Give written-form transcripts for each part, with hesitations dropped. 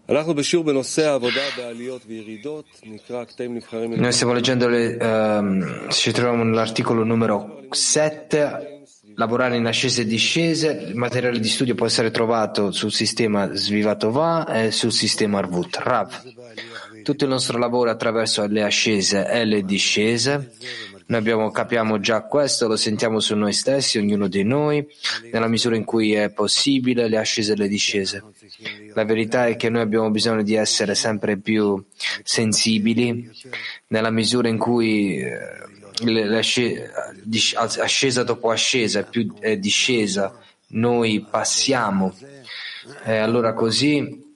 Noi stiamo leggendo, ci troviamo nell'articolo numero 7, lavorare in ascese e discese. Il materiale di studio può essere trovato sul sistema Svivatova e sul sistema Arvut. Rav, tutto il nostro lavoro è attraverso le ascese e le discese. Noi capiamo già questo, lo sentiamo su noi stessi, ognuno di noi, nella misura in cui è possibile, le ascese e le discese. La verità è che noi abbiamo bisogno di essere sempre più sensibili, nella misura in cui ascesa dopo ascesa è discesa, noi passiamo. E allora così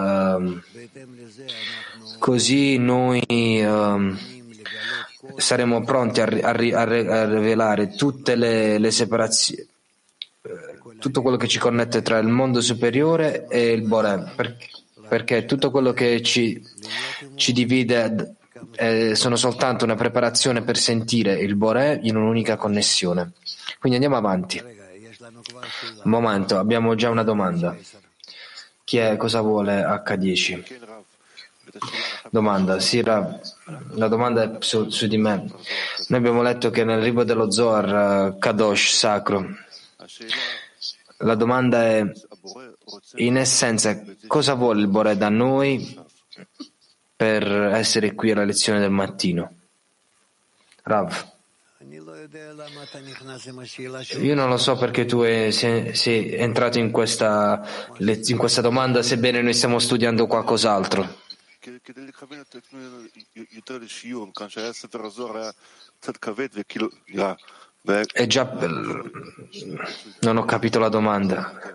noi saremo pronti a rivelare tutte le separazioni, tutto quello che ci connette tra il mondo superiore e il Boré, perché tutto quello che ci divide sono soltanto una preparazione per sentire il Boré in un'unica connessione. Quindi andiamo avanti. Un momento, abbiamo già una domanda. Cosa vuole H10? Domanda, sì, la domanda è su di me. Noi abbiamo letto che nel libro dello Zohar Kadosh, sacro, la domanda è, in essenza, cosa vuole il Boré da noi per essere qui alla lezione del mattino? Rav, io non lo so perché tu sei entrato in questa domanda, sebbene noi stiamo studiando qualcos'altro. È già, non ho capito la domanda.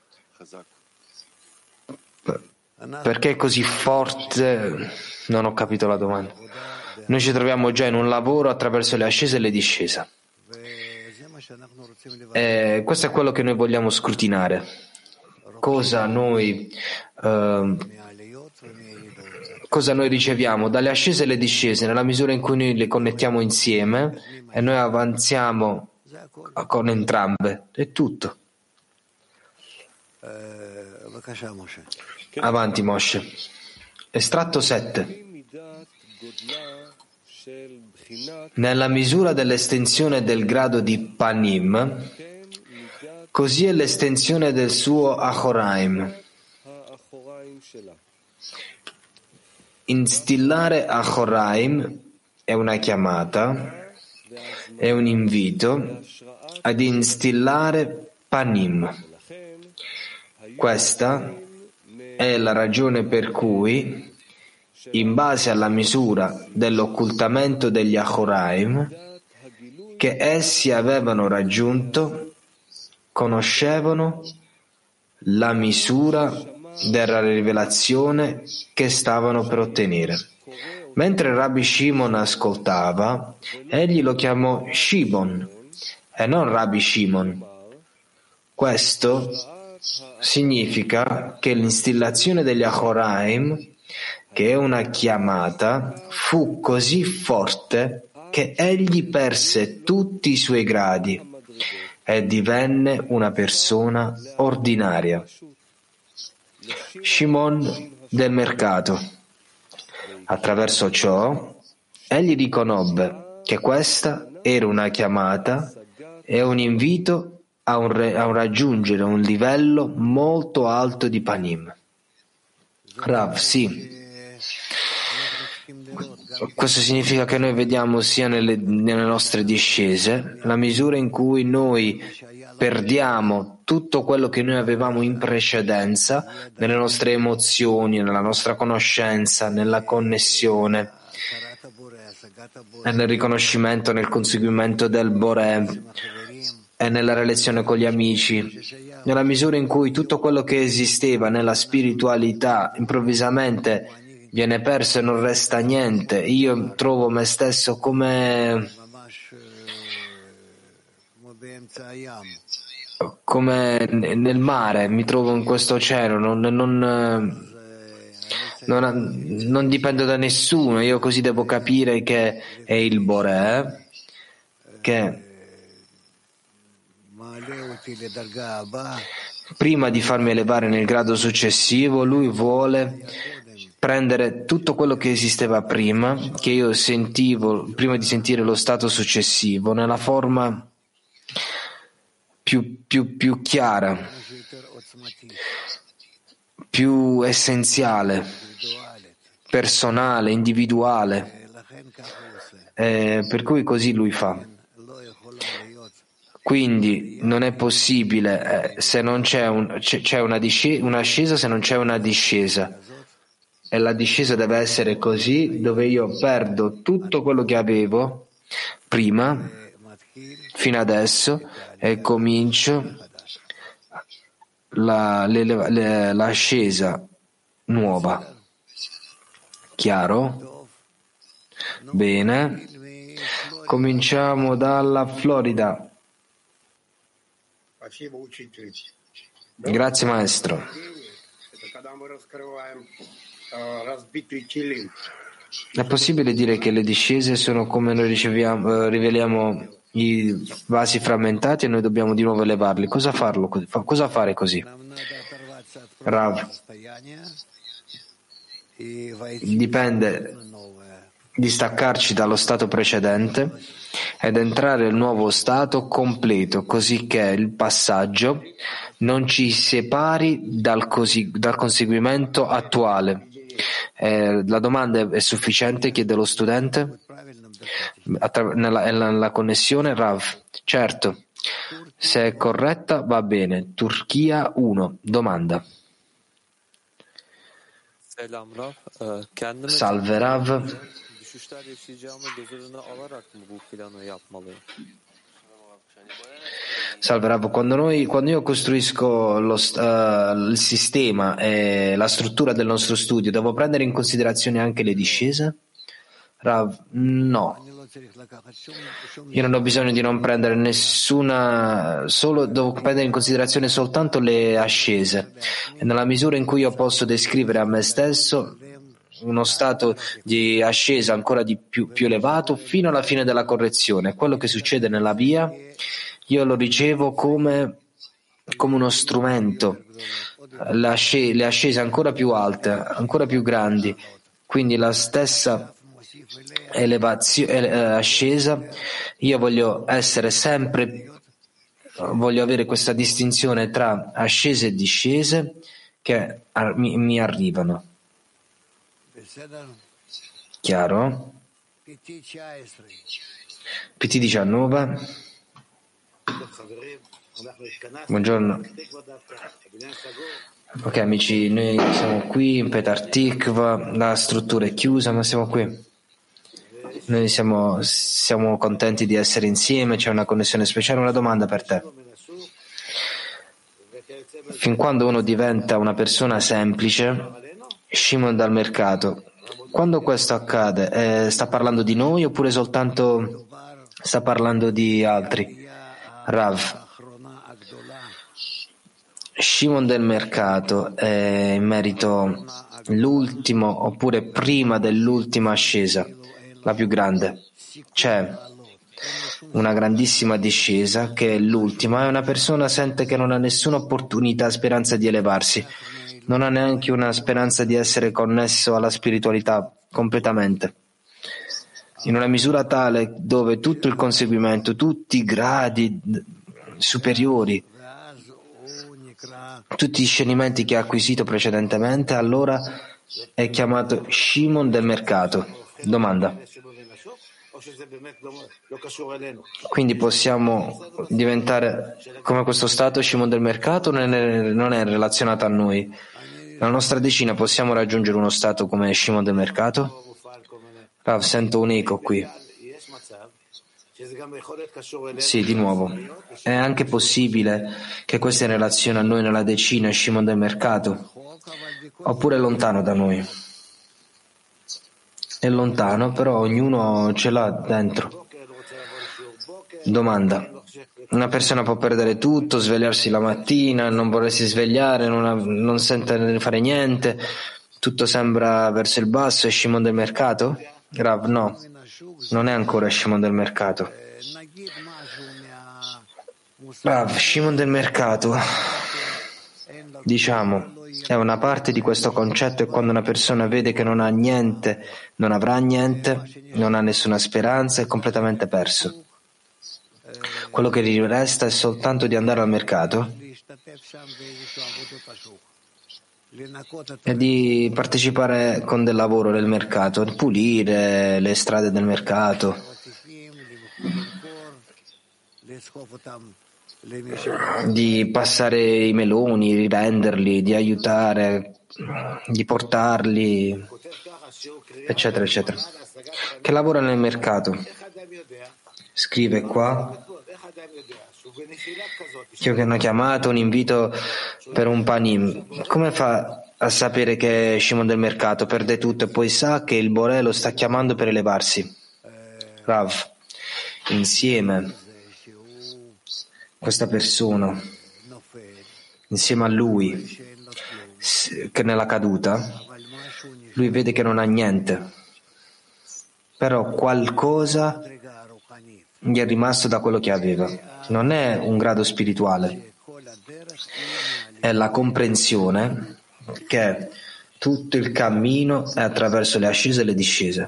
Perché è così forte? Non ho capito la domanda. Noi ci troviamo già in un lavoro attraverso le ascese e le discese. Questo è quello che noi vogliamo scrutinare. Cosa noi riceviamo dalle ascese e le discese nella misura in cui noi le connettiamo insieme e noi avanziamo con entrambe. È tutto. Avanti, Moshe. Estratto 7. Nella misura dell'estensione del grado di Panim, così è l'estensione del suo Achoraim. Instillare Achoraim è una chiamata, è un invito ad instillare Panim. Questa è la ragione per cui, in base alla misura dell'occultamento degli Achoraim che essi avevano raggiunto, conoscevano la misura della rivelazione che stavano per ottenere. Mentre Rabbi Shimon ascoltava, egli lo chiamò Shimon e non Rabbi Shimon. Questo significa che l'instillazione degli Achoraim, che è una chiamata, fu così forte che egli perse tutti i suoi gradi e divenne una persona ordinaria. Shimon del mercato. Attraverso ciò, egli riconobbe che questa era una chiamata e un invito a raggiungere un livello molto alto di Panim. Rav, sì. Questo significa che noi vediamo sia nelle nostre discese la misura in cui noi perdiamo tutto quello che noi avevamo in precedenza nelle nostre emozioni, nella nostra conoscenza, nella connessione e nel riconoscimento, nel conseguimento del Boré e nella relazione con gli amici, nella misura in cui tutto quello che esisteva nella spiritualità improvvisamente viene perso e non resta niente. Io trovo me stesso come nel mare, mi trovo in questo oceano, non dipendo da nessuno, io così devo capire che è il Boré prima di farmi elevare nel grado successivo, lui vuole prendere tutto quello che esisteva prima, che io sentivo prima di sentire lo stato successivo, nella forma più chiara, più essenziale, personale, individuale. Per cui così lui fa. Quindi non è possibile se non c'è un'ascesa, se non c'è una discesa. E la discesa deve essere così, dove io perdo tutto quello che avevo prima, fino adesso, e comincio l'ascesa nuova. Chiaro? Bene. Cominciamo dalla Florida. Grazie maestro. È possibile dire che le discese sono come noi riveliamo i vasi frammentati e noi dobbiamo di nuovo elevarli? Cosa fare così? Rav, dipende di staccarci dallo stato precedente ed entrare nel nuovo stato completo, così che il passaggio non ci separi dal conseguimento attuale. La domanda è sufficiente? Chiede lo studente. Nella connessione, Rav. Certo, se è corretta va bene. Turchia 1. Domanda. Salve Rav. Salve Rav, quando io costruisco il sistema e la struttura del nostro studio, devo prendere in considerazione anche le discese? Rav, no. Io non ho bisogno di non prendere devo prendere in considerazione soltanto le ascese. E nella misura in cui io posso descrivere a me stesso uno stato di ascesa ancora di più elevato fino alla fine della correzione. Quello che succede nella via, io lo ricevo come uno strumento, le ascese ancora più alte, ancora più grandi, quindi la stessa ascesa. Io voglio avere questa distinzione tra ascese e discese che mi arrivano. Chiaro? PT 19. Buongiorno. Ok amici, noi siamo qui in Petar Tikva, la struttura è chiusa ma siamo qui. Noi siamo contenti di essere insieme, c'è una connessione speciale. Una domanda per te. Fin quando uno diventa una persona semplice, Shimon dal mercato, quando questo accade, sta parlando di noi oppure soltanto sta parlando di altri? Rav, Shimon del mercato è in merito l'ultimo oppure prima dell'ultima ascesa, la più grande. C'è una grandissima discesa che è l'ultima e una persona sente che non ha nessuna opportunità, speranza di elevarsi, non ha neanche una speranza di essere connesso alla spiritualità completamente, in una misura tale dove tutto il conseguimento, tutti i gradi superiori, tutti gli scienimenti che ha acquisito precedentemente, allora è chiamato Shimon del mercato. Domanda. Quindi possiamo diventare come questo stato Shimon del mercato o non è relazionato a noi? Nella nostra decina possiamo raggiungere uno stato come Shimon del mercato? Rav, sento un eco qui. Sì, di nuovo. È anche possibile che questa è in relazione a noi nella decina Shimon del mercato? Oppure è lontano da noi? È lontano, però ognuno ce l'ha dentro. Domanda. Una persona può perdere tutto, svegliarsi la mattina, non volersi svegliare, non sentire fare niente, tutto sembra verso il basso, è Shimon del mercato? Rav, no, non è ancora Shimon del mercato. Rav, Shimon del mercato diciamo, è una parte di questo concetto, e quando una persona vede che non ha niente, non avrà niente, non ha nessuna speranza, è completamente perso. Quello che gli resta è soltanto di andare al mercato e di partecipare con del lavoro nel mercato, pulire le strade del mercato, di passare i meloni, rivenderli, di aiutare, di portarli, eccetera, eccetera. Che lavora nel mercato. Scrive qua che hanno chiamato un invito per un panim. Come fa a sapere che è Shimon del mercato? Perde tutto e poi sa che il Boré lo sta chiamando per elevarsi. Rav, insieme questa persona, insieme a lui, che nella caduta, lui vede che non ha niente, però qualcosa gli è rimasto da quello che aveva. Non è un grado spirituale, è la comprensione che tutto il cammino è attraverso le ascese e le discese.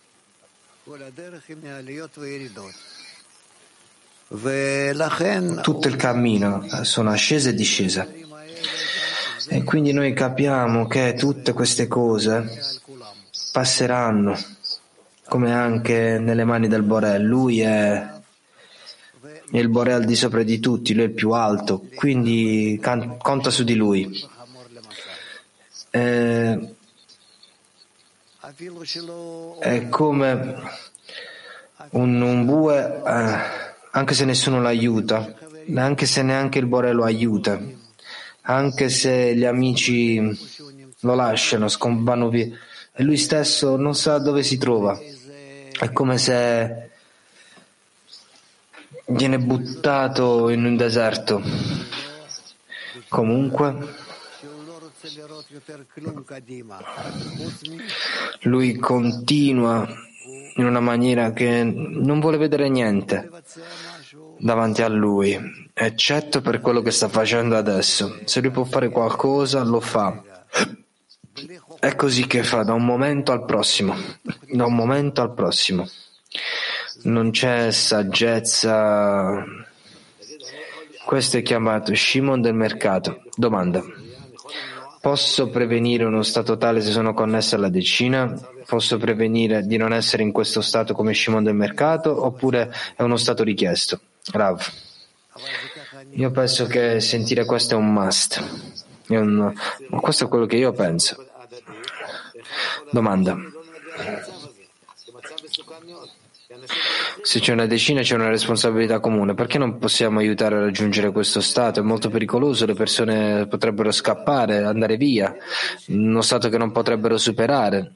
Tutto il cammino sono ascese e discese. E quindi noi capiamo che tutte queste cose passeranno, come anche nelle mani del Boré. Lui è il Boré al di sopra di tutti, lui è il più alto, quindi conta su di lui. È come un bue, anche se nessuno lo aiuta, anche se neanche il Boré lo aiuta, anche se gli amici lo lasciano, vanno via, e lui stesso non sa dove si trova. È come se viene buttato in un deserto. Comunque, lui continua in una maniera che non vuole vedere niente davanti a lui, eccetto per quello che sta facendo adesso. Se lui può fare qualcosa, lo fa. È così che fa da un momento al prossimo, da un momento al prossimo. Non c'è saggezza. Questo è chiamato Shimon del mercato. Domanda: posso prevenire uno stato tale se sono connesso alla decina? Posso prevenire di non essere in questo stato come Shimon del mercato, oppure è uno stato richiesto? Rav, io penso che sentire questo è un must. Ma questo è quello che io penso. Domanda: se c'è una decina, c'è una responsabilità comune. Perché non possiamo aiutare a raggiungere questo stato? È molto pericoloso, le persone potrebbero scappare, andare via, uno stato che non potrebbero superare.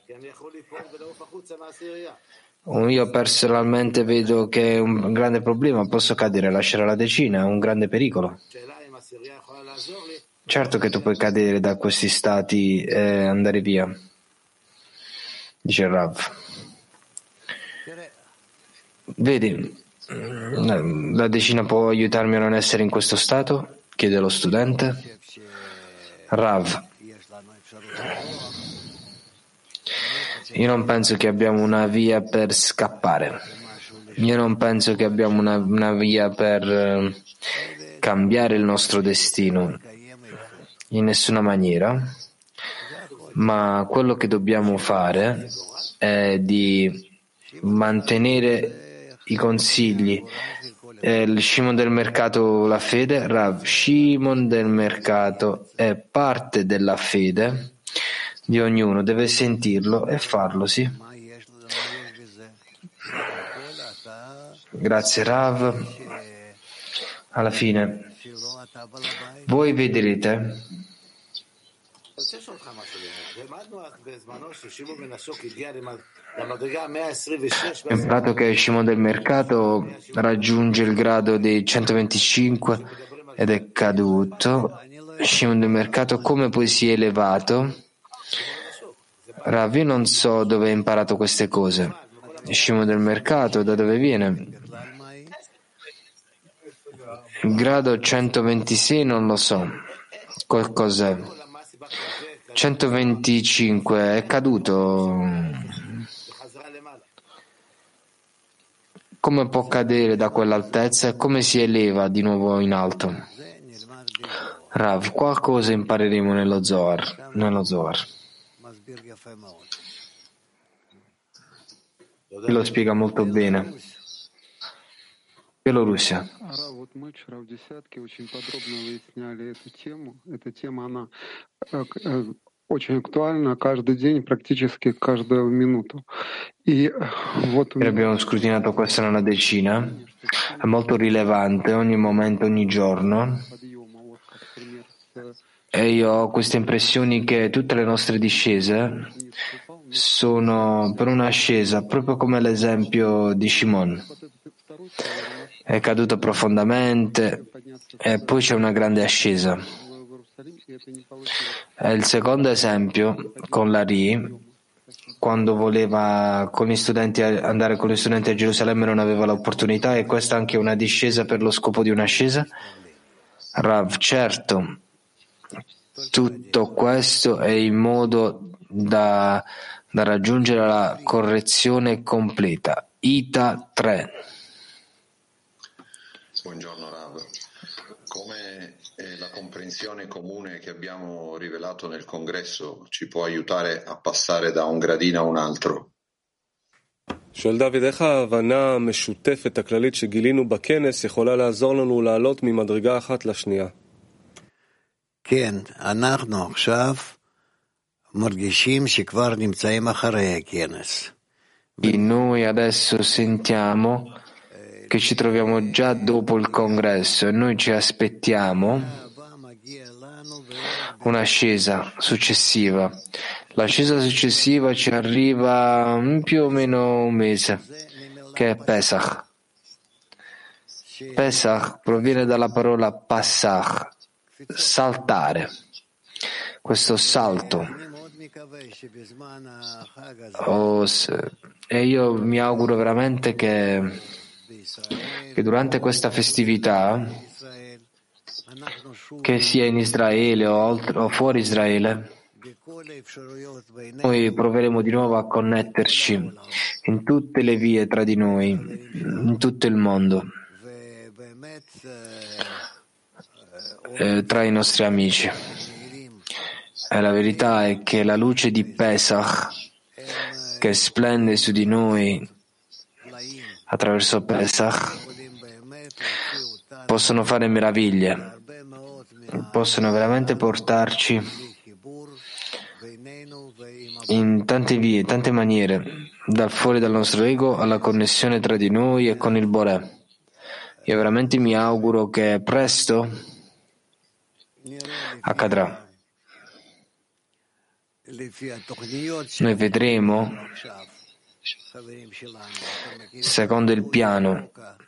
Io personalmente vedo che è un grande problema, posso cadere, lasciare la decina, è un grande pericolo. Certo che tu puoi cadere da questi stati e andare via, dice Rav. Vedi, la decina può aiutarmi a non essere in questo stato? Chiede lo studente. Rav, io non penso che abbiamo una via per scappare. Io non penso che abbiamo una via per cambiare il nostro destino in nessuna maniera, ma quello che dobbiamo fare è di mantenere i consigli. Il Shimon del mercato, la fede. Rav, Shimon del mercato è parte della fede di ognuno, deve sentirlo e farlo, sì. Grazie Rav. Alla fine voi vedrete ho imparato che Shimon del mercato raggiunge il grado dei 125 ed è caduto. Shimon del mercato come poi si è elevato? Rav, io non so dove hai imparato queste cose. Shimon del mercato, da dove viene? Il grado 126 non lo so. Cos'è? 125 è caduto. Come può cadere da quell'altezza e come si eleva di nuovo in alto? Rav, qualcosa impareremo nello Zohar. Lo spiega molto bene. Bielorussia. Вот мы вчера в десятке очень подробно выясняли эту тему. Эта тема, она очень актуальна каждый день, практически каждую минуту. И вот abbiamo scrutinato questa nella decina, è molto rilevante ogni momento, ogni giorno. E io ho queste impressioni che tutte le nostre discese sono per un'ascesa, proprio come l'esempio di Shimon. È caduto profondamente e poi c'è una grande ascesa. E il secondo esempio con l'Ari, quando voleva andare con gli studenti a Gerusalemme non aveva l'opportunità, e questa è anche una discesa per lo scopo di un'ascesa? Rav, certo, tutto questo è in modo da raggiungere la correzione completa. Ita 3. Buongiorno Rav, come la comprensione comune che abbiamo rivelato nel congresso ci può aiutare a passare da un gradino a un altro? שואל דוד, איך ההבנה המשותפת הכללית שגילינו בכנס יכולה לעזור לנו לעלות ממדרגה אחת לשנייה? כן, אנחנו עכשיו מרגישים שכבר נמצאים אחרי הכנס. Noi adesso sentiamo che ci troviamo già dopo il congresso e noi ci aspettiamo un'ascesa successiva. L'ascesa successiva ci arriva in più o meno un mese, che è Pesach. Pesach proviene dalla parola passach, saltare. Questo salto. E io mi auguro veramente che durante questa festività, che sia in Israele o fuori Israele, noi proveremo di nuovo a connetterci in tutte le vie tra di noi, in tutto il mondo, tra i nostri amici. E la verità è che la luce di Pesach che splende su di noi attraverso Pesach possono fare meraviglie, possono veramente portarci in tante vie, tante maniere, dal fuori dal nostro ego alla connessione tra di noi e con il Boré. Io veramente mi auguro che presto accadrà. Noi vedremo, secondo il piano,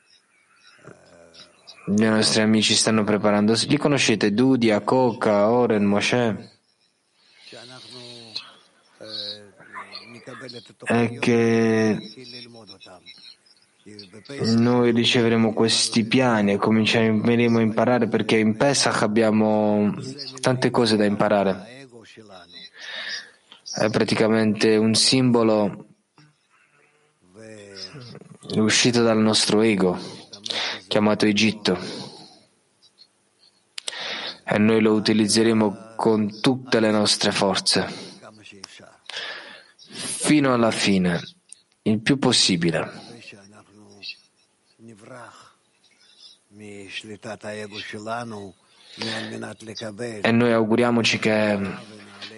i nostri amici stanno preparando. Li conoscete? Dudia, Coca, Oren, Moshe? È che noi riceveremo questi piani e cominceremo a imparare, perché in Pesach abbiamo tante cose da imparare. È praticamente un simbolo uscito dal nostro ego, chiamato Egitto, e noi lo utilizzeremo con tutte le nostre forze, fino alla fine, il più possibile. E noi auguriamoci che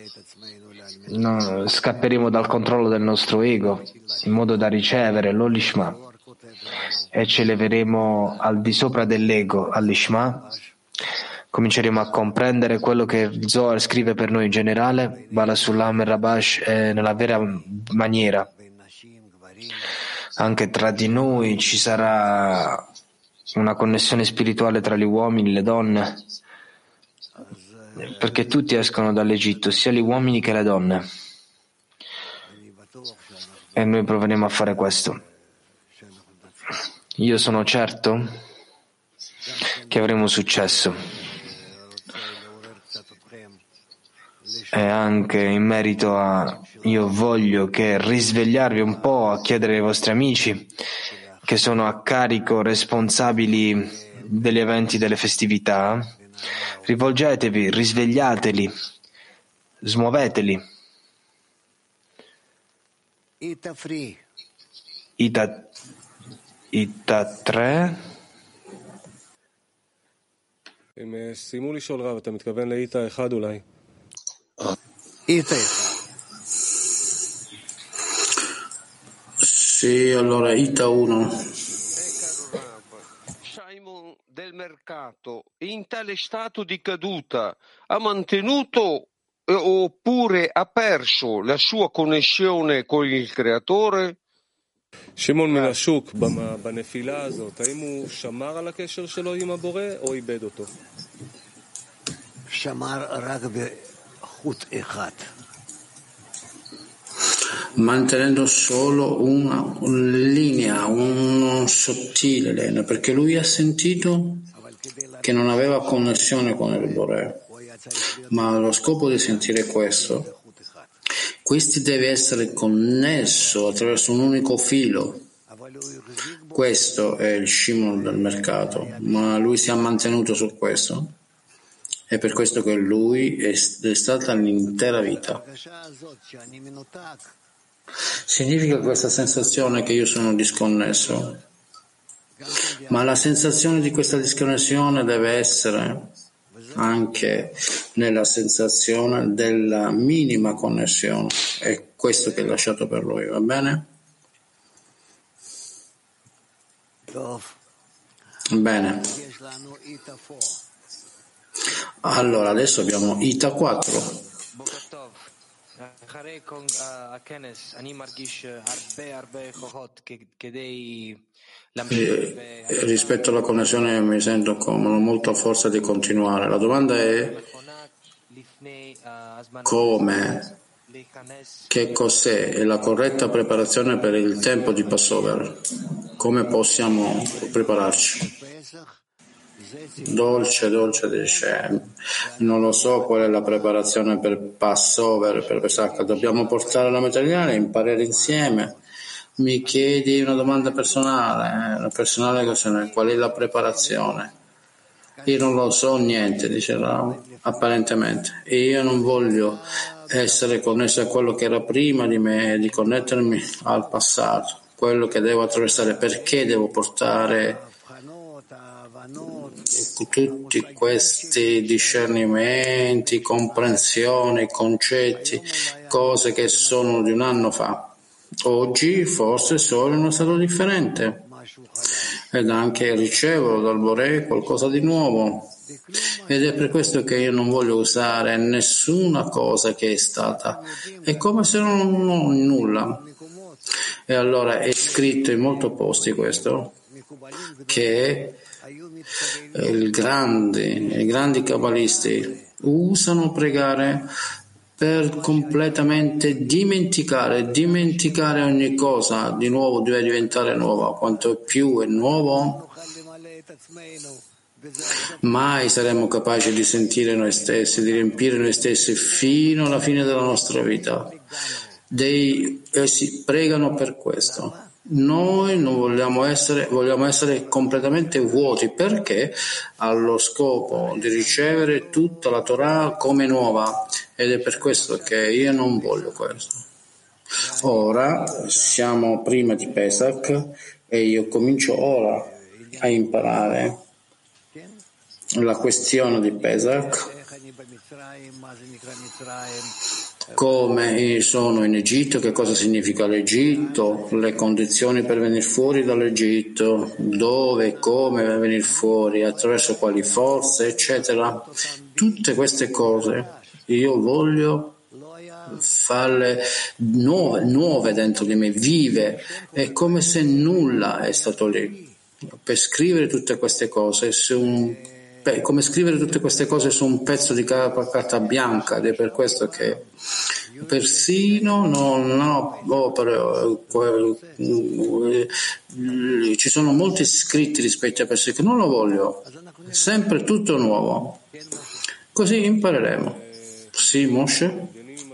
scapperemo dal controllo del nostro ego in modo da ricevere l'Olishma e ci eleveremo al di sopra dell'ego, all'Ishma. Cominceremo a comprendere quello che il Zohar scrive per noi in generale, Bala Sulam e Rabash, nella vera maniera. Anche tra di noi ci sarà una connessione spirituale tra gli uomini e le donne, perché tutti escono dall'Egitto, sia gli uomini che le donne, e noi proveremo a fare questo. Io sono certo che avremo successo. E anche in merito a io voglio che risvegliarvi un po' a chiedere ai vostri amici che sono a carico responsabili degli eventi delle festività, rivolgetevi, risvegliateli, smuoveteli. Ita 3. הם סיימו לשאול רב, אתה מתכוון לאיתה אחד אולי? Sì, allora Ita 1. Simon del mercato, in tale stato di caduta, ha mantenuto oppure ha perso la sua connessione con il creatore? שמעון מן השוק, בנפילה הזאת, האם הוא שמר על הקשר שלו עם הבורא או איבד אותו? שמר רק בחוט אחד. Mantenendo solo una linea, un sottile linea, perché lui ha sentito che non aveva connessione con il Bore, ma allo scopo di sentire questo, questi deve essere connesso attraverso un unico filo. Questo è il Shimon del mercato, ma lui si è mantenuto su questo. È per questo che lui è stata l'intera vita. Significa questa sensazione che io sono disconnesso, ma la sensazione di questa disconnessione deve essere anche nella sensazione della minima connessione. È questo che è lasciato per lui, va bene? Bene. Allora, adesso abbiamo Ita 4. Rispetto alla connessione mi sento comodo, molta forza di continuare. La domanda è come, che cos'è la corretta preparazione per il tempo di Passover? Come possiamo prepararci? Dolce dice, non lo so qual è la preparazione per Passover, per Pesach, dobbiamo portare la materiale, imparare insieme. Mi chiedi una domanda personale qual è la preparazione? Io non lo so niente, dice Rav, apparentemente, e io non voglio essere connesso a quello che era prima di me, di connettermi al passato, quello che devo attraversare, perché devo portare tutti questi discernimenti, comprensioni, concetti, cose che sono di un anno fa. Oggi forse sono in uno stato differente ed anche ricevo dal Boré qualcosa di nuovo, ed è per questo che io non voglio usare nessuna cosa che è stata, è come se non ho nulla. E allora è scritto in molti posti questo, che i grandi kabbalisti usano pregare per completamente dimenticare ogni cosa di nuovo deve diventare nuova. Quanto più è nuovo, mai saremo capaci di sentire noi stessi, di riempire noi stessi fino alla fine della nostra vita. Essi pregano per questo. Noi non vogliamo essere completamente vuoti, perché allo scopo di ricevere tutta la Torah come nuova, ed è per questo che io non voglio questo. Ora siamo prima di Pesach e io comincio ora a imparare la questione di Pesach, come sono in Egitto, che cosa significa l'Egitto, le condizioni per venire fuori dall'Egitto, dove e come venire fuori, attraverso quali forze, eccetera. Tutte queste cose io voglio farle nuove dentro di me, vive, è come se nulla è stato lì. Per scrivere tutte queste cose come scrivere tutte queste cose su un pezzo di carta bianca, ed è per questo che persino non ho opere, ci sono molti scritti rispetto a persone che non lo voglio, sempre tutto nuovo, così impareremo Sì, Moshe?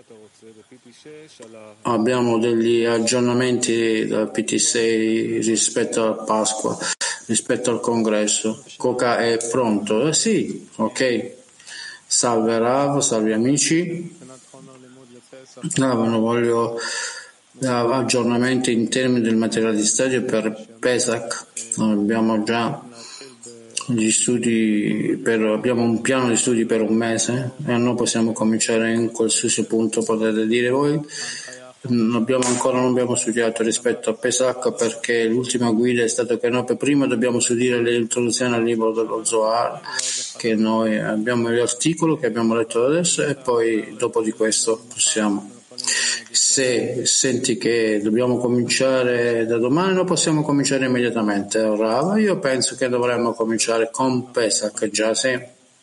Abbiamo degli aggiornamenti dal PT6 rispetto a Pasqua, rispetto al congresso. Coca è pronto? Sì, ok. Salve Rav, salve amici. Non voglio aggiornamenti in termini del materiale di studio per Pesach. Abbiamo già gli studi abbiamo un piano di studi per un mese e noi possiamo cominciare in qualsiasi punto. Potete dire voi, non abbiamo studiato rispetto a Pesach perché l'ultima guida è stata che noi per prima dobbiamo studiare l'introduzione al libro dello Zohar, che noi abbiamo l'articolo che abbiamo letto adesso, e poi dopo di questo possiamo. Se senti che dobbiamo cominciare da domani, noi possiamo cominciare immediatamente. Rava, io penso che dovremmo cominciare con Pesach già, sì.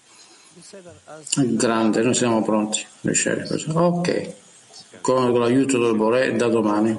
Grande, noi siamo pronti. Ok, con l'aiuto del Boré da domani.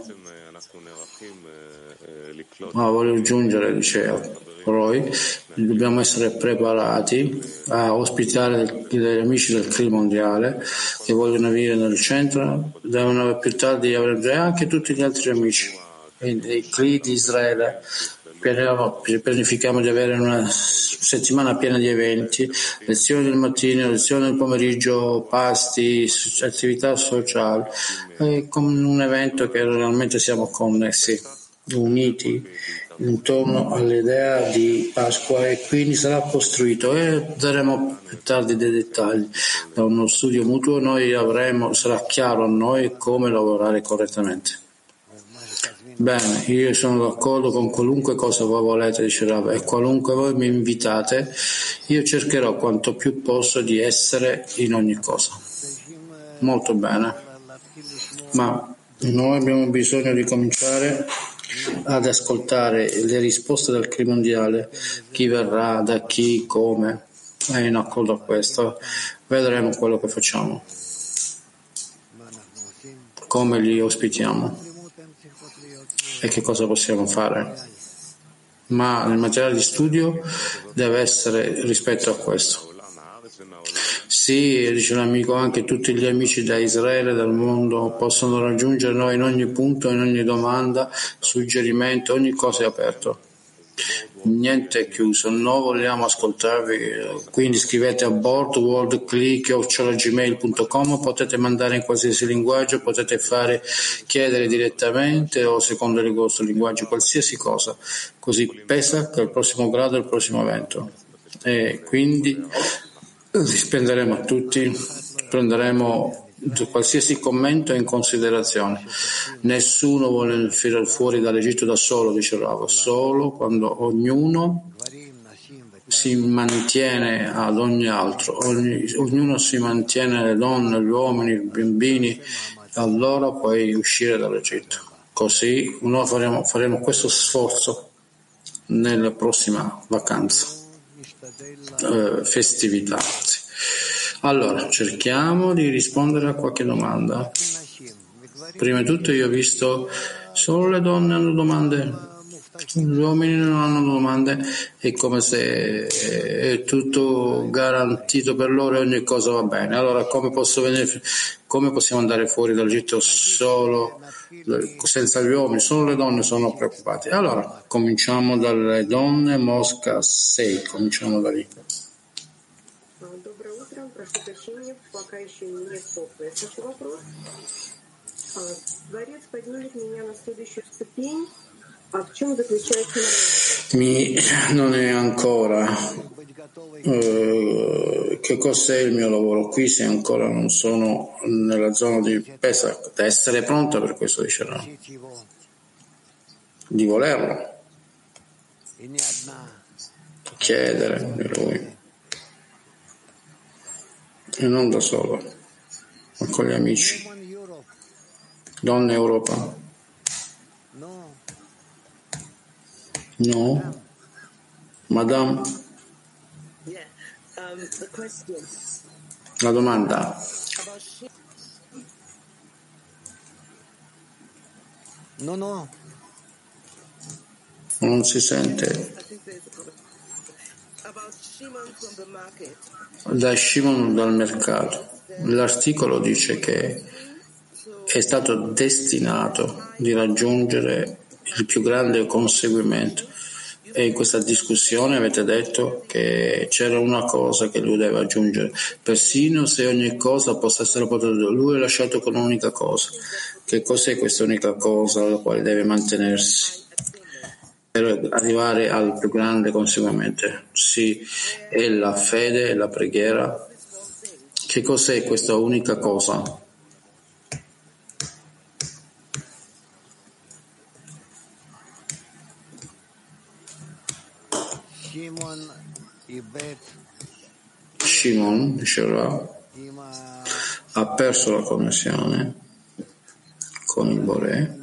Voglio aggiungere, dice Roy, dobbiamo essere preparati a ospitare gli amici del CRI mondiale che vogliono venire nel centro, devono più tardi avere anche tutti gli altri amici dei CRI di Israele. Pianifichiamo di avere una settimana piena di eventi, lezioni del mattino, lezioni del pomeriggio, pasti, attività sociali, con un evento che realmente siamo connessi, uniti intorno all'idea di Pasqua, e quindi sarà costruito e daremo più tardi dei dettagli. Da uno studio mutuo sarà chiaro a noi come lavorare correttamente. Bene, io sono d'accordo con qualunque cosa voi volete, dice Rav, e qualunque voi mi invitate, io cercherò quanto più posso di essere in ogni cosa. Molto bene, ma noi abbiamo bisogno di cominciare ad ascoltare le risposte del CRI mondiale, chi verrà, da chi, come, e in accordo a questo vedremo quello che facciamo, come li ospitiamo e che cosa possiamo fare. Ma nel materiale di studio deve essere rispetto a questo. Sì, dice l'amico, anche tutti gli amici da Israele, dal mondo, possono raggiungere noi in ogni punto, in ogni domanda, suggerimento, ogni cosa è aperto. Niente è chiuso, noi vogliamo ascoltarvi, quindi scrivete a boardworldclick@gmail.com, potete mandare in qualsiasi linguaggio, potete chiedere direttamente o secondo il vostro linguaggio, qualsiasi cosa, così Pesach è il prossimo grado, il prossimo evento, e quindi risponderemo a tutti, prenderemo qualsiasi commento in considerazione. Nessuno vuole uscire fuori dall'Egitto da solo, dice Rav, solo quando ognuno si mantiene ad ogni altro, ognuno si mantiene, le donne, gli uomini, i bambini, allora puoi uscire dall'Egitto. Così noi faremo questo sforzo nella prossima vacanza, festività. Allora, cerchiamo di rispondere a qualche domanda. Prima di tutto io ho visto solo le donne hanno domande, gli uomini non hanno domande, è come se è tutto garantito per loro e ogni cosa va bene. Allora come possiamo andare fuori dall'Egitto solo senza gli uomini? Solo le donne sono preoccupate. Allora cominciamo dalle donne, Mosca 6, cominciamo da lì. Прошу прощения, пока еще не теплый. Слушай вопрос. Творец поднимет меня на следующую ступень. А в чем заключается Non è ancora. Che cos'è il mio lavoro qui se ancora non sono nella zona di Pesach? Da essere pronta per questo, dicevo. Di volerlo. Chiedere di lui. E non da solo, ma con gli amici. Donna Europa. No? Madame? La domanda. No. Non si sente. Da Shimon dal mercato. L'articolo dice che è stato destinato di raggiungere il più grande conseguimento, e in questa discussione avete detto che c'era una cosa che lui deve aggiungere, persino se ogni cosa possa essere potuta, lui è lasciato con un'unica cosa. Che cos'è questa unica cosa alla quale deve mantenersi per arrivare al più grande conseguimento? Sì, è la fede e la preghiera. Che cos'è questa unica cosa? Shimon, diceva, ha perso la connessione con il Boré,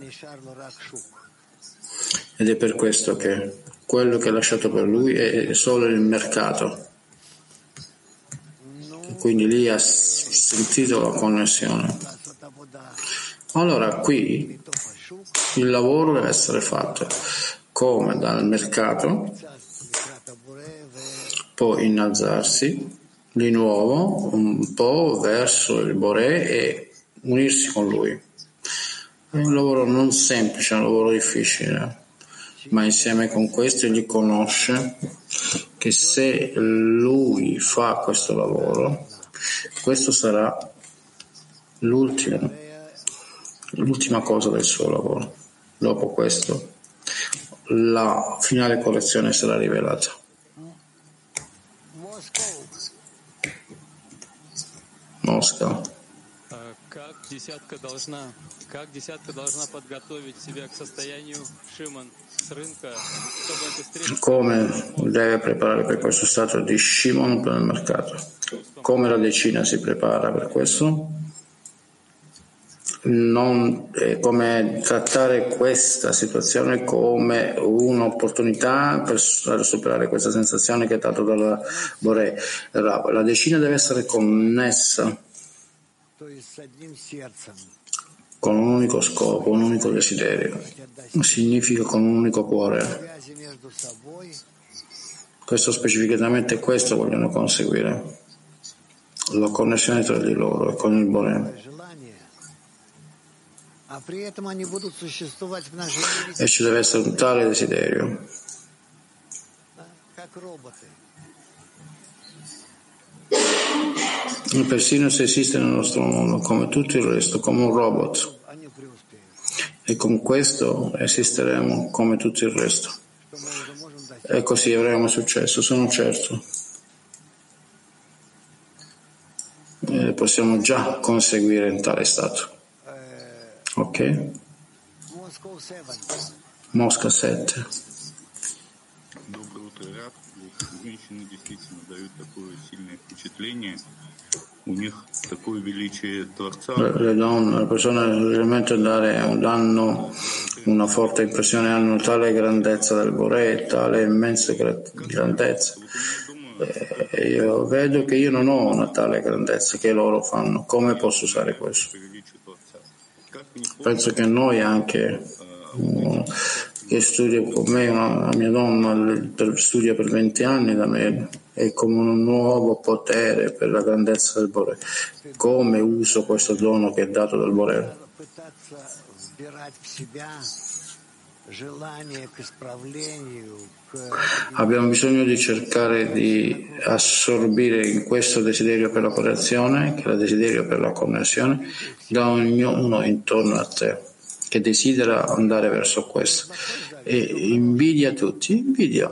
ed è per questo che quello che ha lasciato per lui è solo il mercato. Quindi lì ha sentito la connessione. Allora qui il lavoro deve essere fatto come dal mercato, poi innalzarsi di nuovo un po' verso il Boré e unirsi con lui. È un lavoro non semplice, è un lavoro difficile, ma insieme con questo egli conosce che se lui fa questo lavoro, questo sarà l'ultima cosa del suo lavoro. Dopo questo la finale correzione sarà rivelata. Mosca. Как десятка должна подготовить себя к состоянию Шимон с рынка, чтобы эта встреча... Come deve preparare per questo stato di Shimon per il mercato? Come la decina si prepara per questo? Non come trattare questa situazione come un'opportunità per superare questa sensazione che è data dalla Boré. La decina deve essere connessa con un unico scopo, un unico desiderio, significa con un unico cuore. Questo specificatamente questo vogliono conseguire, la connessione tra di loro e con il Boré. E ci deve essere un tale desiderio. E persino se esiste nel nostro mondo, come tutto il resto, come un robot. E con questo esisteremo come tutto il resto. E così avremo successo, sono certo. E possiamo già conseguire in tale stato. Ok? Mosca 7. Le donne, le persone realmente danno una forte impressione, hanno tale grandezza del Boré, tale immensa grandezza. Io vedo che io non ho una tale grandezza che loro fanno. Come posso usare questo? Penso che noi anche, che studia con me, la mia donna studia per 20 anni da me, è come un nuovo potere per la grandezza del Boré. Come uso questo dono che è dato dal Boré? Abbiamo bisogno di cercare di assorbire in questo desiderio per la correzione, che è il desiderio per la connessione, da ognuno intorno a te, che desidera andare verso questo. E invidia tutti, invidia.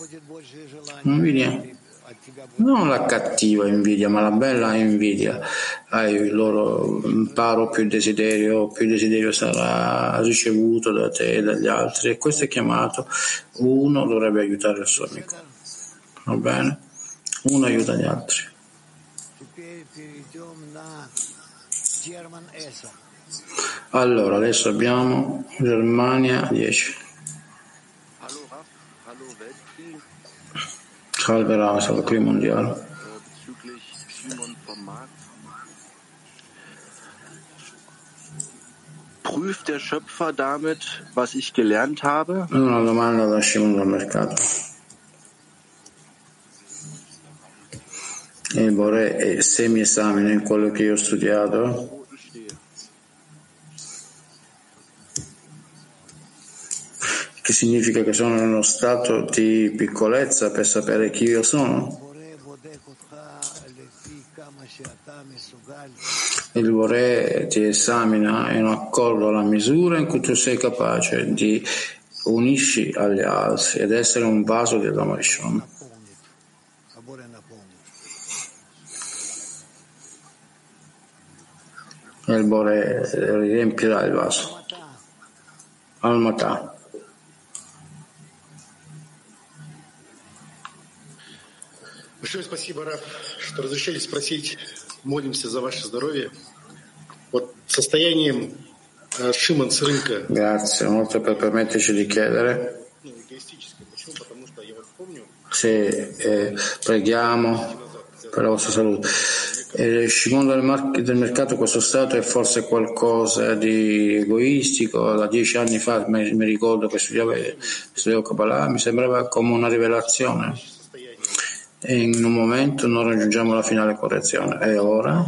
Non la cattiva invidia, ma la bella invidia. Hai il loro imparo, più desiderio sarà ricevuto da te e dagli altri, e questo è chiamato, uno dovrebbe aiutare il suo amico, va bene? Uno aiuta gli altri. Allora, adesso abbiamo Germania 10. Salve Rav, salve qui mondiale. Prüft der Schöpfer damit, was ich gelernt habe? Una domanda da Shimon dal mercato. il Bore se mi esamina in quello che io ho studiato, che significa che sono in uno stato di piccolezza per sapere chi io sono. Il Bore ti esamina in accordo alla misura in cui tu sei capace di unirsi agli altri ed essere un vaso di Adam Rishon. E il Bore riempirà il vaso. Al-Matà. Большое спасибо, Раф, что разрешили спросить. Молимся за ваше здоровье. Вот состоянием Шимон с рынка. Grazie, molto per permetterci di chiedere. Se preghiamo per la vostra salute. Shimon del mercato, questo stato è forse qualcosa di egoistico. Da 10 anni fa mi ricordo che studiavo Kabbalah, mi sembrava come una rivelazione. E in un momento non raggiungiamo la finale correzione. E ora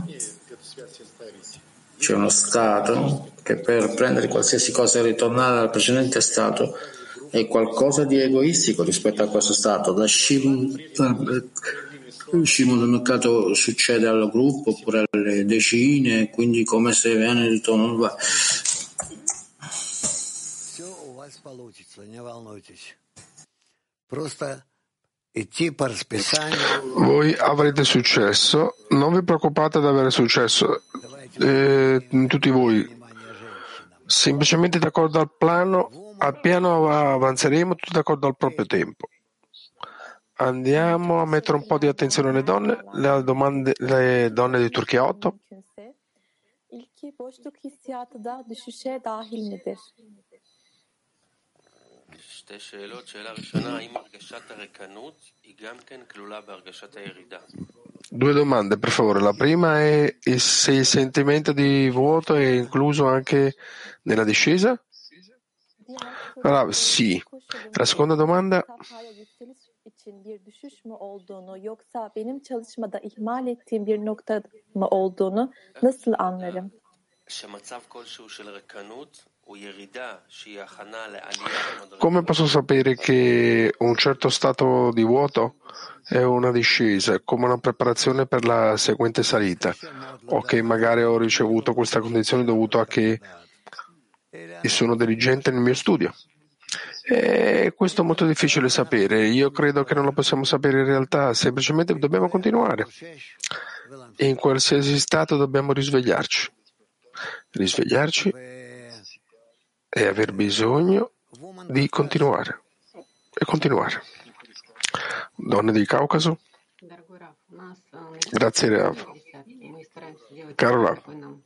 c'è uno stato che per prendere qualsiasi cosa e ritornare al precedente stato è qualcosa di egoistico rispetto a questo stato. Da Shimon del mercato succede al gruppo oppure alle decine, quindi come se viene ritorno. Voi avrete successo, non vi preoccupate ad avere successo, tutti voi, semplicemente d'accordo al piano avanzeremo tutti d'accordo al proprio tempo. Andiamo a mettere un po' di attenzione alle donne, le donne di Turchia 8. Due domande, per favore. La prima è se il sentimento di vuoto è incluso anche nella discesa? Allora, sì. La seconda domanda. için bir düşüş mü olduğunu yoksa benim çalışmada ihmal ettiğim bir nokta mı olduğunu nasıl anlarım? Come posso sapere che un certo stato di vuoto è una discesa, come una preparazione per la seguente salita, o che magari ho ricevuto questa condizione dovuto a che sono diligente nel mio studio? E questo è molto difficile sapere. Io credo che non lo possiamo sapere in realtà, semplicemente dobbiamo continuare. E in qualsiasi stato dobbiamo risvegliarci e aver bisogno di continuare e continuare. Donne del Caucaso. Grazie Rav. Caro Rav.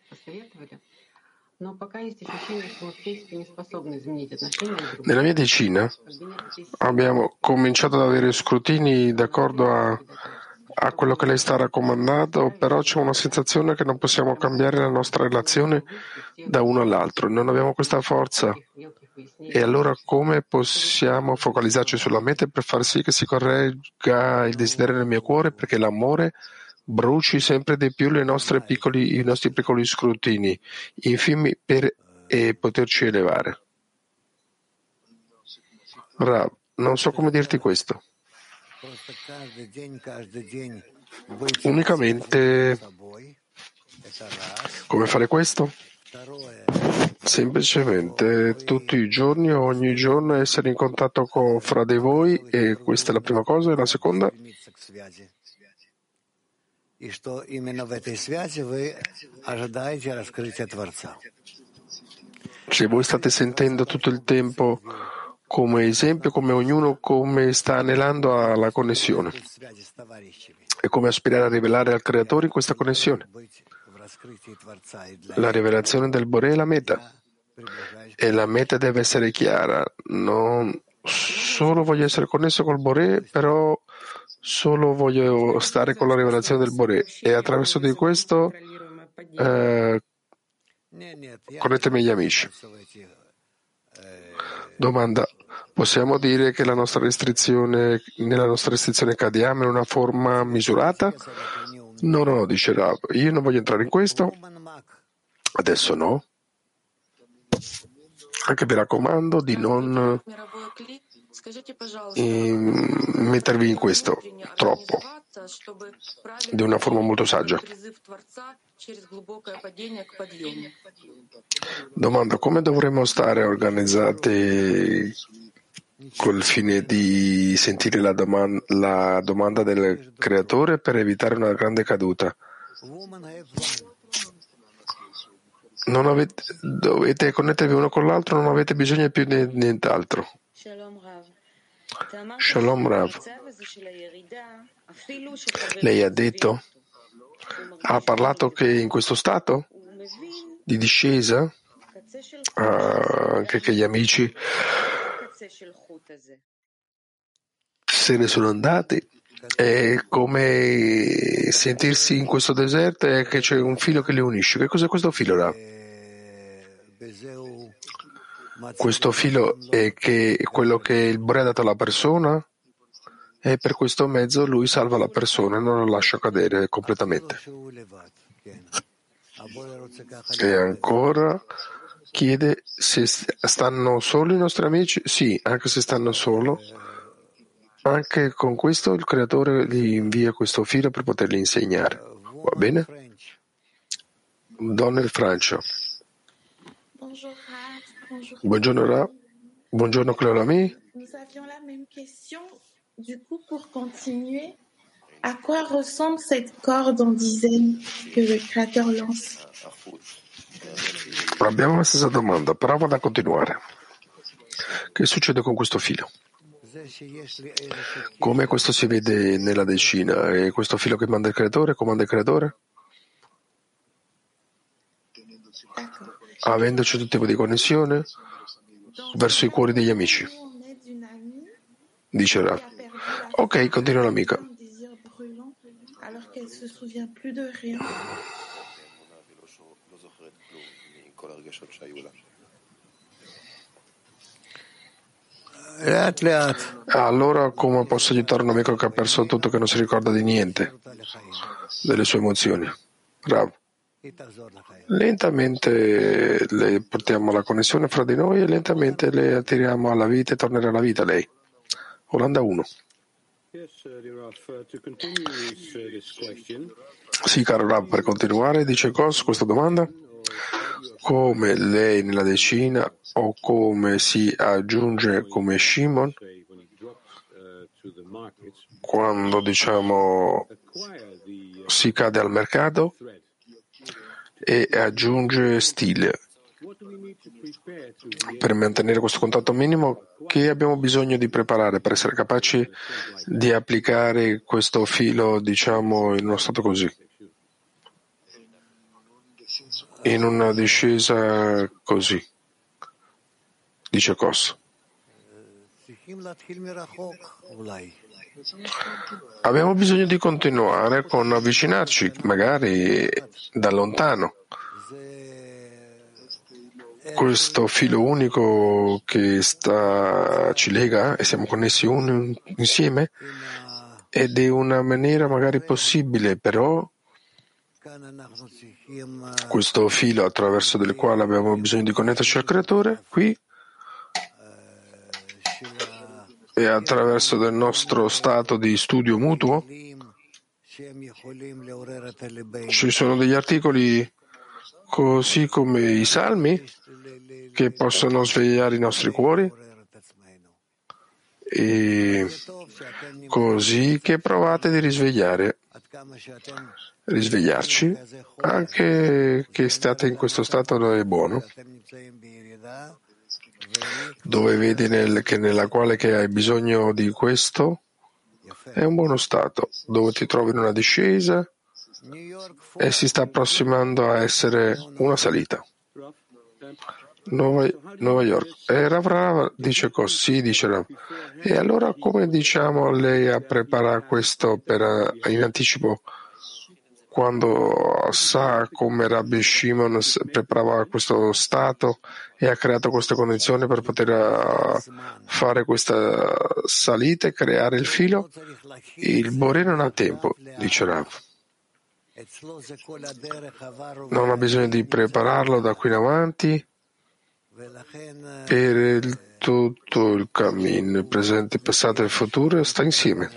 Nella mia decina abbiamo cominciato ad avere scrutini d'accordo a quello che lei sta raccomandando, però c'è una sensazione che non possiamo cambiare la nostra relazione da uno all'altro, non abbiamo questa forza. E allora come possiamo focalizzarci sulla meta per far sì che si corregga il desiderio nel mio cuore, perché l'amore bruci sempre di più i nostri piccoli scrutini, infimi, per poterci elevare? Rav, non so come dirti questo. Unicamente come fare questo? Semplicemente tutti i giorni, ogni giorno essere in contatto fra di voi, e questa è la prima cosa. E la seconda? Se voi state sentendo tutto il tempo come esempio, come ognuno come sta anelando alla connessione e come aspirare a rivelare al Creatore in questa connessione. La rivelazione del Boré è la meta, e la meta deve essere chiara. Non solo voglio essere connesso col Boré, però solo voglio stare con la rivelazione del Boré, e attraverso di questo connettermi agli amici. Domanda: possiamo dire che nella nostra restrizione Kadiyam è una forma misurata, No, dice Rav, io non voglio entrare in questo, adesso no. Anche vi raccomando di non mettervi in questo troppo, di una forma molto saggia. Domanda: come dovremmo stare organizzati col fine di sentire la domanda del creatore per evitare una grande caduta? Dovete connettervi uno con l'altro, non avete bisogno più di nient'altro. Shalom Rav. Lei ha parlato che in questo stato di discesa, anche che gli amici se ne sono andati, è come sentirsi in questo deserto e che c'è un filo che li unisce. Che cos'è questo filo, Rav? Questo filo è quello che il Bore ha dato alla persona, e per questo mezzo lui salva la persona e non lo lascia cadere completamente. E ancora chiede se stanno solo i nostri amici. Sì, anche se stanno solo, anche con questo il creatore gli invia questo filo per poterli insegnare. Va bene? Donne Francia. Buongiorno Ra. Buongiorno Cleolami. Nous avions la même question. Du coup, pour continuer, à quoi ressemble cette corde en dizaines que le créateur lance? Abbiamo la stessa domanda, però vado a continuare. Che succede con questo filo? Come questo si vede nella decina? È questo filo che manda il creatore, comanda il creatore? Avendoci tutto tipo di connessione verso i cuori degli amici. Dice Rav. Ok, continua l'amica. Allora come posso aiutare un amico che ha perso tutto, che non si ricorda di niente delle sue emozioni? Rav. Lentamente le portiamo la connessione fra di noi e lentamente le attiriamo alla vita e tornerà alla vita lei. Olanda 1. Sì, caro Rav, per continuare, dice Kos, questa domanda: come lei nella decina o come si aggiunge come Shimon quando si cade al mercato e aggiunge stile per mantenere questo contatto minimo? Che abbiamo bisogno di preparare per essere capaci di applicare questo filo, in uno stato così, in una discesa così, dice Kos. Abbiamo bisogno di continuare con avvicinarci, magari da lontano. Questo filo unico che ci lega e siamo connessi insieme, ed è una maniera magari possibile, però questo filo attraverso del quale abbiamo bisogno di connetterci al creatore qui e attraverso del nostro stato di studio mutuo. Ci sono degli articoli così come i salmi che possono svegliare i nostri cuori, e così che provate di risvegliarci, anche che state in questo stato è buono, dove vedi nella quale che hai bisogno di questo è un buono stato, dove ti trovi in una discesa e si sta approssimando a essere una salita. Nuova York. E Rav dice così, dice Rav. E allora come lei a preparare questo in anticipo, quando sa come Rabbi Shimon preparava questo stato e ha creato queste condizioni per poter fare questa salita e creare il filo? Il Bore non ha tempo, dice Rav. Non ha bisogno di prepararlo da qui in avanti. Per tutto il cammino, il presente, il passato e il futuro sta insieme.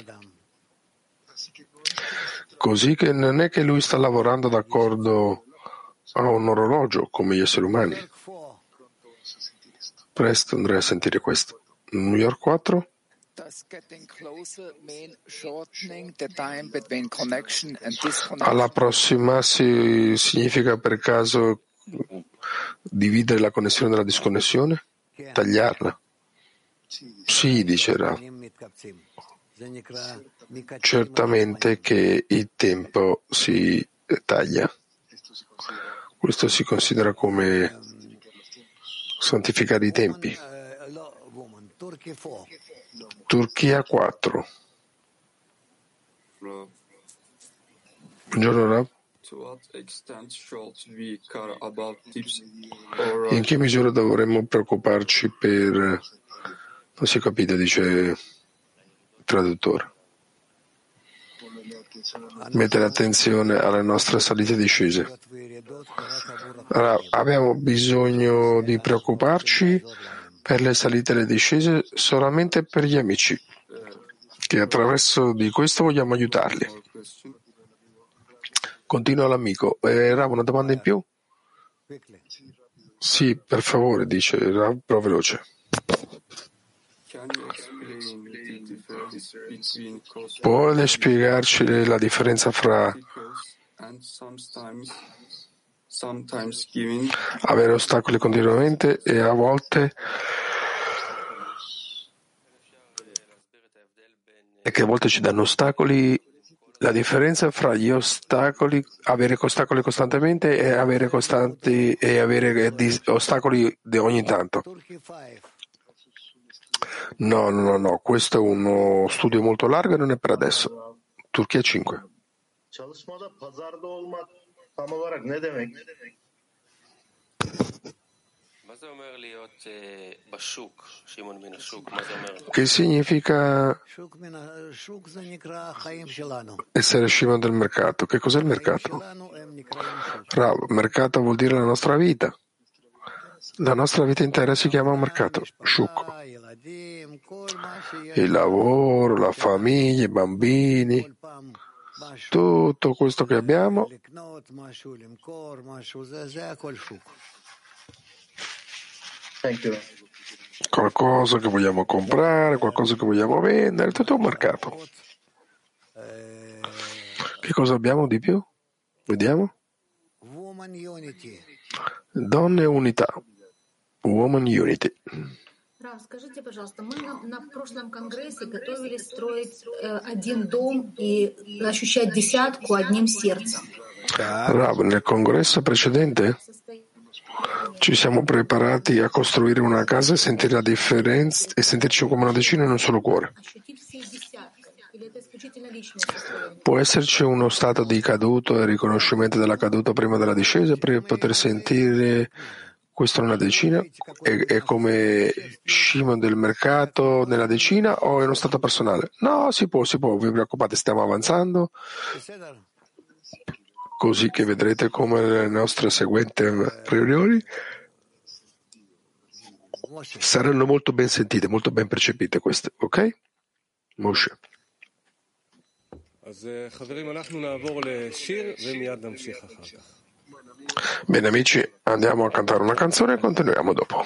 Così che non è che lui sta lavorando d'accordo a un orologio come gli esseri umani. Presto andrei a sentire questo. New York 4. All'approssimarsi significa per caso dividere la connessione dalla disconnessione? Tagliarla? Sì, dice Rav. Certamente che il tempo si taglia. Questo si considera come santificare i tempi. Turchia 4. Buongiorno Rav. In che misura dovremmo preoccuparci per... Non si capite, dice il traduttore. Mettere attenzione alle nostre salite e discese. Allora, abbiamo bisogno di preoccuparci per le salite e le discese solamente per gli amici, che attraverso di questo vogliamo aiutarli. Continua l'amico. Rav, una domanda in più? Sì, per favore, dice Rav, però veloce. Puoi spiegarci la differenza fra avere ostacoli continuamente e a volte che a volte ci danno ostacoli? La differenza fra gli ostacoli, avere ostacoli costantemente e avere costanti e avere ostacoli di ogni tanto. No, questo è uno studio molto largo e non è per adesso. Turchia 5. Che significa essere Shimon del mercato? Che cos'è il mercato? Rav, mercato vuol dire la nostra vita. La nostra vita intera si chiama un mercato, Shuk. Il lavoro, la famiglia, i bambini, tutto questo che abbiamo qualcosa che vogliamo comprare, qualcosa che vogliamo vendere, tutto un mercato. Che cosa abbiamo di più? Vediamo. Donne unità. Woman Unity. Рав, скажите, пожалуйста, мы на прошлом конгрессе готовились строить один дом и ощущать десятку одним сердцем. Rav, nel congresso precedente ci siamo preparati a costruire una casa e sentire la differenza e sentirci come una decina in un solo cuore. Può esserci uno stato di caduto e riconoscimento della caduta prima della discesa per poter sentire questo nella decina? È come Shimon del mercato nella decina o è uno stato personale? No, si può, vi preoccupate, stiamo avanzando, così che vedrete come le nostre seguenti riunioni saranno molto ben sentite, molto ben percepite queste, ok? Moshe. Bene amici, andiamo a cantare una canzone e continuiamo dopo.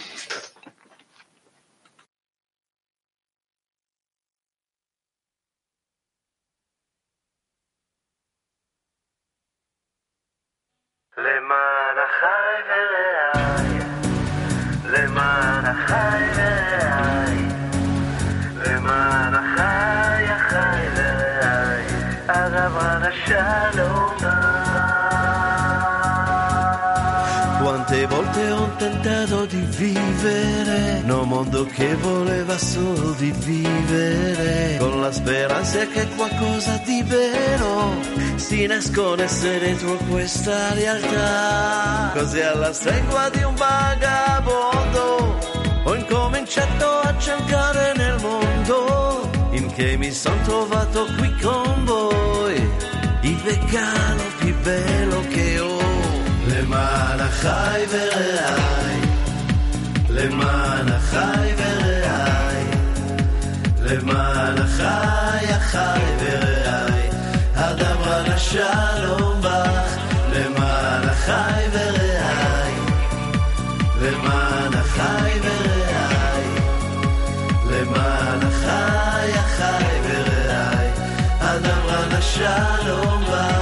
Quante volte ho tentato di vivere in un mondo che voleva solo di vivere, con la speranza che qualcosa di vero si nascondesse dentro questa realtà. Così alla stregua di un vagabondo ho incominciato a cercare nel mondo, in che mi son trovato qui con voi, il vegano più velo che ho. למען החי ורעי, למען החי ורעי, למען החי החי ורעי, הדברה לשלום בך, למען החי ורעי, למען החי ורעי, למען החי החי ורעי, הדברה לשלום בך.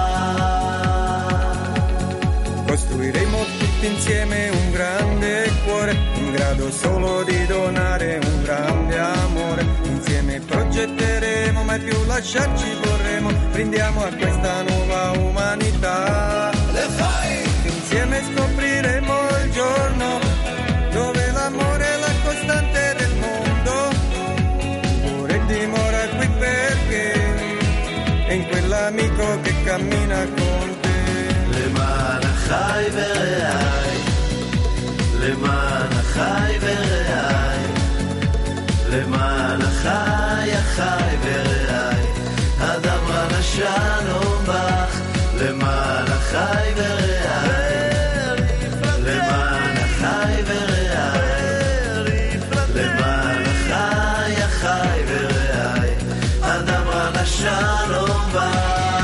Costruiremo tutti insieme un grande cuore, in grado solo di donare un grande amore. Insieme progetteremo, mai più lasciarci vorremmo. Brindiamo a questa nuova umanità. Le fai! Insieme scopriremo il giorno dove l'amore è la costante del mondo. L'amore dimora qui perché è in quell'amico che cammina con te. למען החי ורעי, למען החי ורעי, למען החי החי ורעי, הדברה לשלום בך, למען החי ורעי, למען החי ורעי, למען החי החי ורעי, הדברה לשלום בך.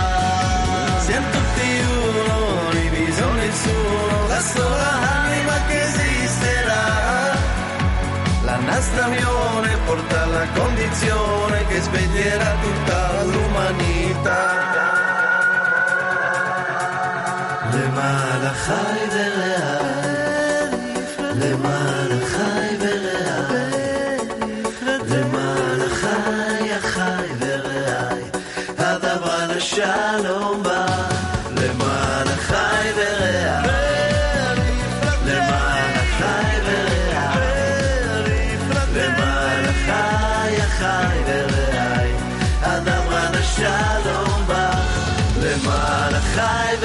La sola anima che esisterà, la nostra unione porta alla condizione che sveglierà tutta l'umanità. למען החי ורעי, למען החי ורעי, למען החי החי ורעי, הדברה לשלום בא, למען החי ורעי. חי ורעי, הדברה לשלום בך, למען החי